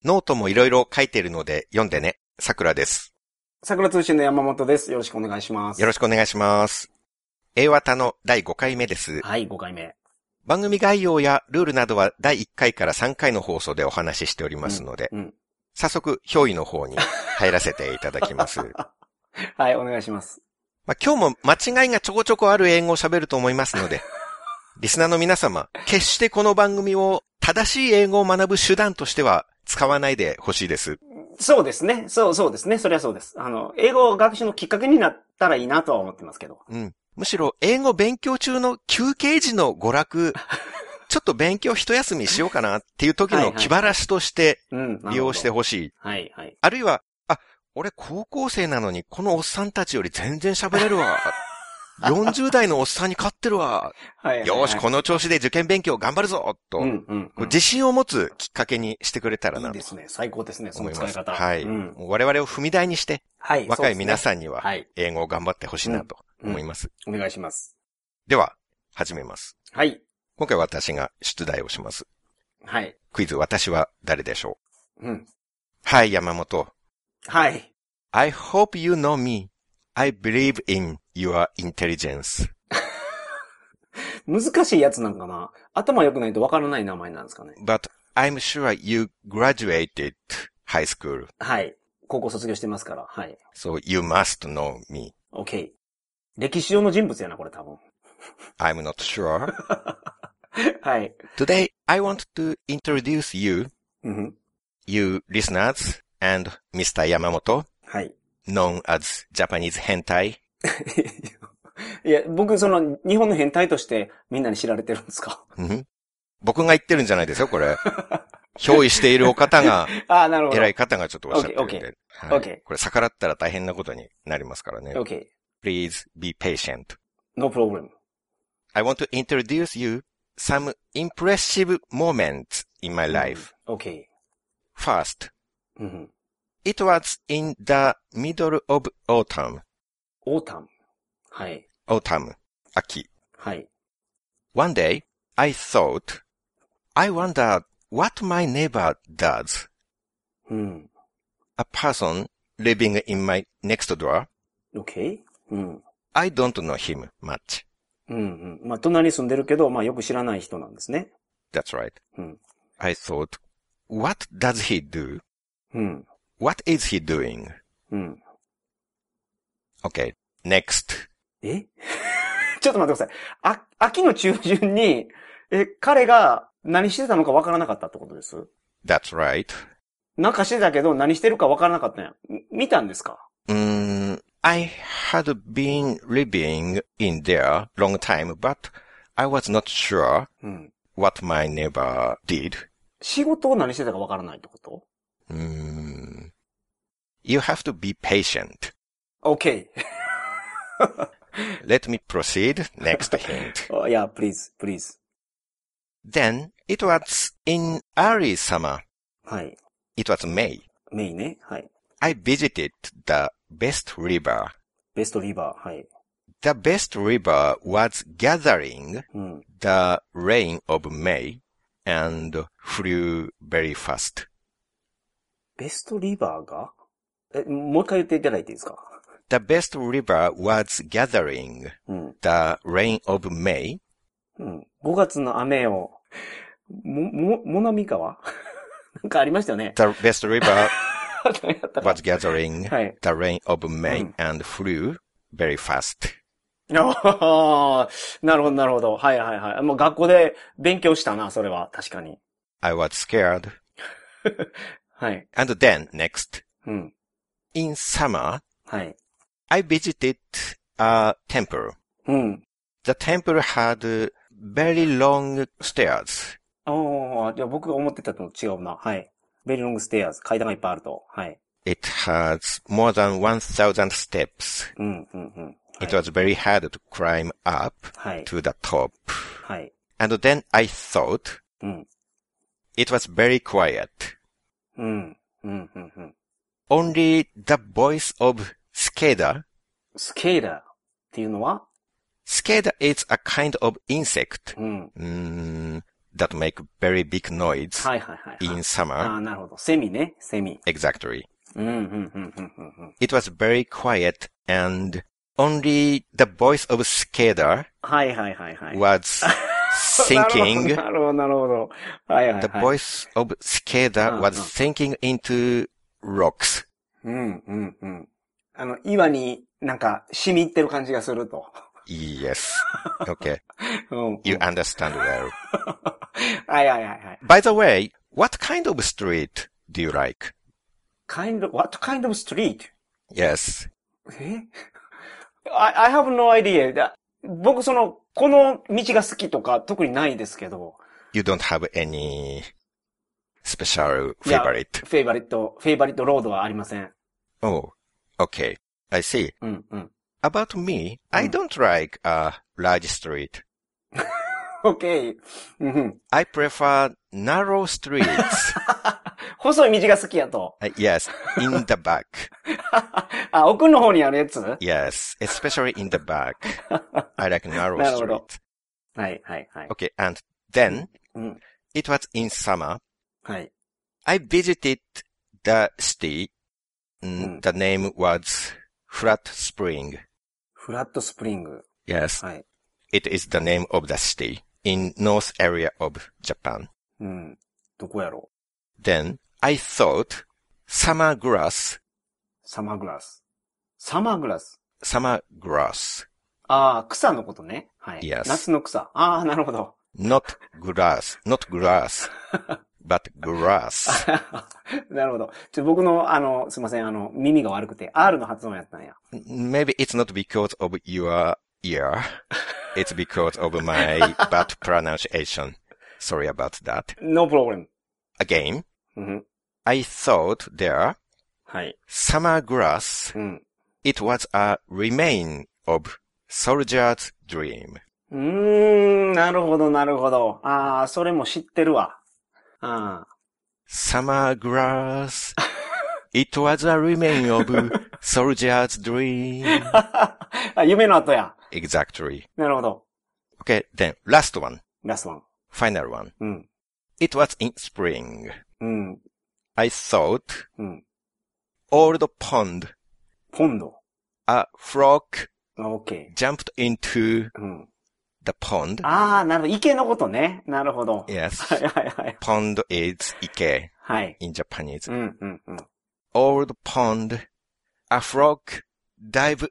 ノートもいろいろ書いているので読んでね。さくらです。 桜通信の山本です。よろしくお願いします。 よろしくお願いします。A綿の第5回目です。 はい、5回目。 番組概要やルールなどは第1回から3回の放送でお話ししておりますので、早速、憑依の方に入らせていただきます。 はい、お願いします。 今日も間違いがちょこちょこある英語を喋ると思いますので、リスナーの皆様、決してこの番組を正しい英語を学ぶ手段としては使わないでほしいです。 そうですね。そうですね。そりゃそうです。英語学習のきっかけになったらいいなとは思ってますけど。 むしろ、英語勉強中の休憩時の娯楽、ちょっと勉強一休みしようかなっていう時の気晴らしとして利用してほしい。 はいはい。 あるいは、俺高校生なのにこのおっさんたちより全然喋れるわ。40代のおっさんに勝ってるわ。よし、この調子で受験勉強頑張るぞと、自信を持つきっかけにしてくれたらなと。 いいですね。最高ですね。その使い方。 はい。我々を踏み台にして、若い皆さんには英語を頑張ってほしいなと思います。 お願いします。 では、始めます。 はい。 今回私が出題をします。 はい。 クイズ、私は誰でしょう。 はい、山本。 はい。 I hope you know me. I believe in your intelligence. 難しいやつなんかな。頭良くないとわからない名前なんですかね。 But I'm sure you graduated high school. はい。高校卒業してますから。はい。 So you must know me. Okay. 歴史上の人物やな、これ多分。 I'm not sure. はい。 Today, I want to introduce you, you listeners, and Mr. Yamamoto, はい。 known as Japanese hentai. いや、僕、日本の変態としてみんなに知られてるんですか？ 僕が言ってるんじゃないですよ、これ。憑依しているお方が、 なるほど。 偉い方がちょっとおっしゃってるんで。 Okay. これ逆らったら大変なことになりますからね。 Okay. Please be patient. No problem. I want to introduce you some impressive moments in my life. Okay. First, it was in the middle of autumn. Autumn. はい。 Autumn. 秋。 はい。 One day, I thought, I wonder what my neighbor does. A person living in my next door. Okay. I don't know him much. まあ、隣に住んでるけど、まあ、よく知らない人なんですね。 That's right. I thought, what does he do? What is he doing? Okay, next. ちょっと待ってください。秋の中旬に、彼が何してたのかわからなかったってことです？ That's right. なんかしてたけど何してるかわからなかったんや。見たんですか？ I had been living in there long time, but I was not sure what my neighbor did. 仕事を何してたかわからないってこと？ You have to be patient. Okay. Let me proceed. Next hint. Yeah, please. Then, it was in early summer. はい。 It was May. May ね。はい。 I visited the Best River. Best River. はい。 The Best River was gathering the rain of May and flew very fast. Best River が？もう一回言っていただいていいですか？ The Best River was gathering the rain of May. 5月の雨を、もなみ川なんかありましたよね。 The Best River was gathering the rain of May and flew very fast. なるほど。はい。もう学校で勉強したな、それは。確かに。 I was scared. はい。 And then, next. In summer, はい。 I visited a temple. The temple had very long stairs. じゃあ僕が思ってたのと違うな。はい。very long stairs. 階段がいっぱいあると。はい。 It has more than 1,000 steps. It was very hard to climb up to the top. はい。 And then I thought, it was very quiet. Only the voice of cicada. Cicada っていうのは？ Cicada is a kind of insect. that make very big noise はいはいはい。 in summer. ああ、なるほど。セミね。セミ。 Exactly. うん、うん、うん、うん、うん。 It was very quiet and only the voice of Skeda はいはいはいはい。 was sinking. なるほど、なるほど。はいはいはい。 The voice of Skeda was sinking into rocks. うん、うん、うん。岩になんか染み入ってる感じがすると。 Yes. Okay. うん、 You understand well. はいはいはいはい。 By the way, what kind of street do you like? What kind of street? Yes. I have no idea. 僕この道が好きとか特にないですけど。 You don't have any special favorite? フェイバリットロードはありません。 Oh, okay. I see. うんうん。 About me, I don't like a large street. Okay. I prefer narrow streets. 細い道が好きやと。 Yes, in the back. あ、奥の方にあるやつ Yes, especially in the back. I like narrow なるほど。 street. はいはいはい。 Okay, and then, it was in summer. はい。 I visited the city. The name was Flat Spring. フラットスプリング。 Yes. はい。 It is the name of the city in north area of Japan. うん。どこやろ Then I thought summer grass. サマーグラス。サマーグラス。 Summer grass. ああ、草のことね。はい。 Yes. 夏の草。ああ、なるほど。 Not grass. Not grass. but grass. なるほど。僕の、すいません、耳が悪くて、R の発音やったんや。 Maybe it's not because of your ear. It's because of my bad pronunciation. Sorry about that. No problem. Again, うん、 I thought there, はい。 summer grass, うん。 it was a remain of soldier's dream. なるほど、なるほど。ああ、それも知ってるわ。ああ。 Summer grass, it was a remain of soldier's dream. あ、夢の後や。 Exactly. なるほど。 Okay, then last one. ラストワン。 Final one. うん。 It was in spring. うん。 I thought, うん。 old pond, ポンド。 a frog OK。 jumped into うん。 the pond. ああ、なるほど。池のことね。なるほど。 Yes. はいはいはい。 Pond is ike はい。 in Japanese. うんうんうん。 Old pond, a frog dives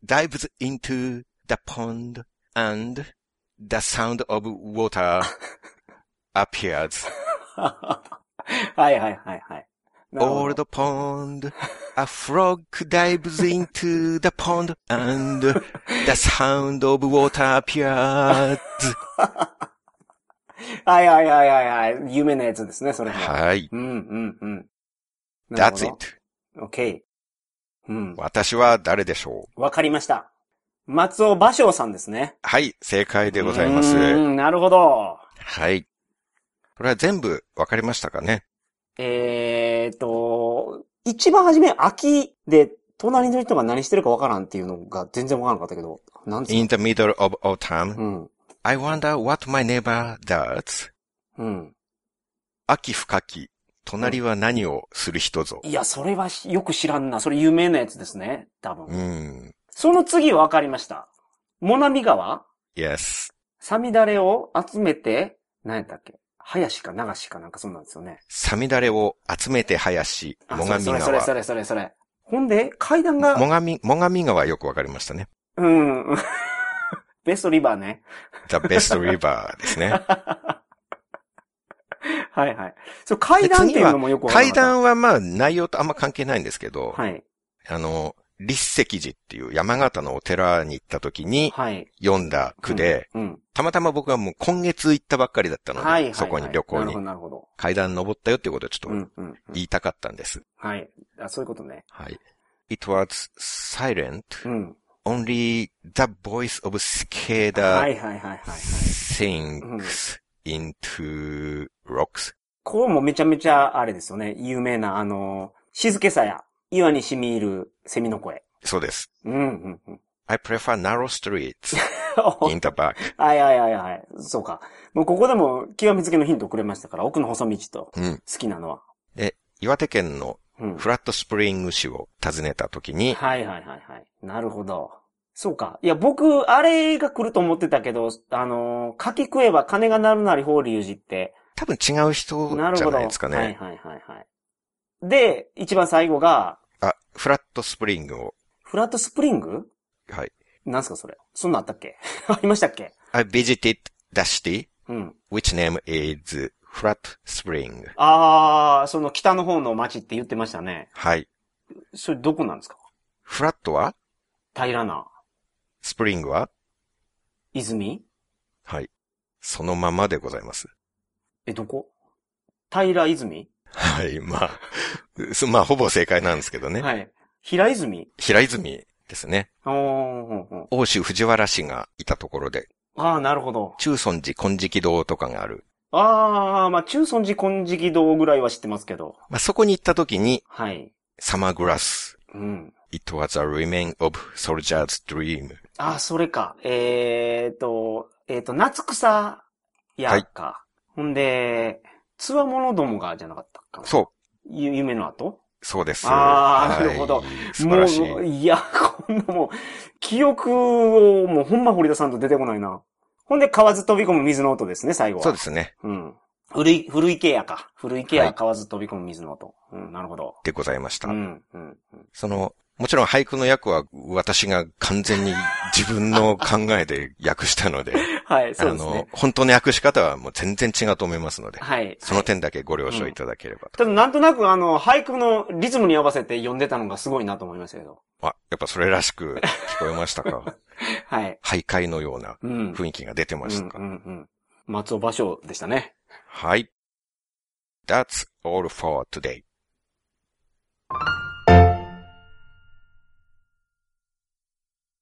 into the pond and the sound of water appears. はいはいはいはい。 Old pond, a frog dives into the pond and the sound of water appears. はいはいはいはいはい。有名なやつですね、それも。 はい。 うんうんうん。 That's it. OK。うん。 私は誰でしょう。わかりました。松尾芭蕉さんですね。 はい、正解でございます。 なるほど。 はい。これは全部わかりましたかね？ 一番初め秋で隣の人が何してるかわからんっていうのが全然わからなかったけど、なんですか？ In the middle of autumn, うん。 I wonder what my neighbor does. うん。 秋深き、隣は何をする人ぞ。 いや、それはよく知らんな。それ有名なやつですね。多分。 うん。 その次わかりました。最上川 Yes. さみだれを集めて、何やったっけ？林か流しかなんかそうなんですよね。 さみだれを集めて林、最上川。 それ。ほんで、階段が。 最上川よくわかりましたね。 うん。ベストリバーね。 The best river ですね。 はいはい。そう、階段っていうのもよくわかりました。 階段はまあ内容とあんま関係ないんですけど、 はい。 立石寺っていう山形のお寺に行った時に、読んだ句で、たまたま僕はもう今月行ったばっかりだったので、そこに旅行に。 なるほど。 階段登ったよっていうことをちょっと言いたかったんです。 はい。そういうことね。 はい。It was silent. Only the voice of cicada sinks into rocks. これもめちゃめちゃあれですよね。有名な静けさや岩に染み入るセミの声。 そうです。I prefer narrow streets. in the back. はいはいはいはい。そうか。もうここでも極めつけのヒントをくれましたから、奥の細道と好きなのは。 で、岩手県のフラットスプリング市を訪ねた時に、 はいはいはいはい。なるほど。そうか。いや、僕、あれが来ると思ってたけど、柿食えば金が鳴るなり法隆寺って。 多分違う人じゃないですかね。 はいはいはいはい。で、一番最後が、 フラットスプリングを。 フラットスプリング？ はい。 なんすかそれ。そんなあったっけ？ありましたっけ？ I visited the city, which name is Flat Spring. その北の方の町って言ってましたね。 はい。 それどこなんですか？ フラットは平らな。 スプリングは泉？ はい。そのままでございます。 どこ？平泉？ はい、まあ、まあ、ほぼ正解なんですけどね。 はい。平泉？ 平泉ですね。奥州藤原氏がいたところで。 なるほど。 中尊寺金色堂とかがある。 まあ、中尊寺金色堂ぐらいは知ってますけど。 まあ、そこに行った時に、 はい。 サマーグラス。It was a remain of soldier's dream. それか。夏草やか。はい、ほんで、つわものどもがじゃなかったかな。 そう。 夢の後？ そうです。 なるほど。 素晴らしい。 もう、いや、こんなもう、記憶をもうほんま掘り出さんと出てこないな。ほんで、河津飛び込む水の音ですね、最後は。 そうですね。 古い池やか。古い池や河津飛び込む水の音。なるほど。 でございました。もちろん俳句の訳は私が完全に自分の考えで訳したので、 はい、そうですね。 本当の訳し方はもう全然違うと思いますので、 はい。 その点だけご了承いただければと。 ただなんとなく俳句のリズムに合わせて読んでたのがすごいなと思いましたけど。 やっぱそれらしく聞こえましたか？ はい。 俳諧のような雰囲気が出てましたか？ 松尾芭蕉でしたね。 はい。That's all for today.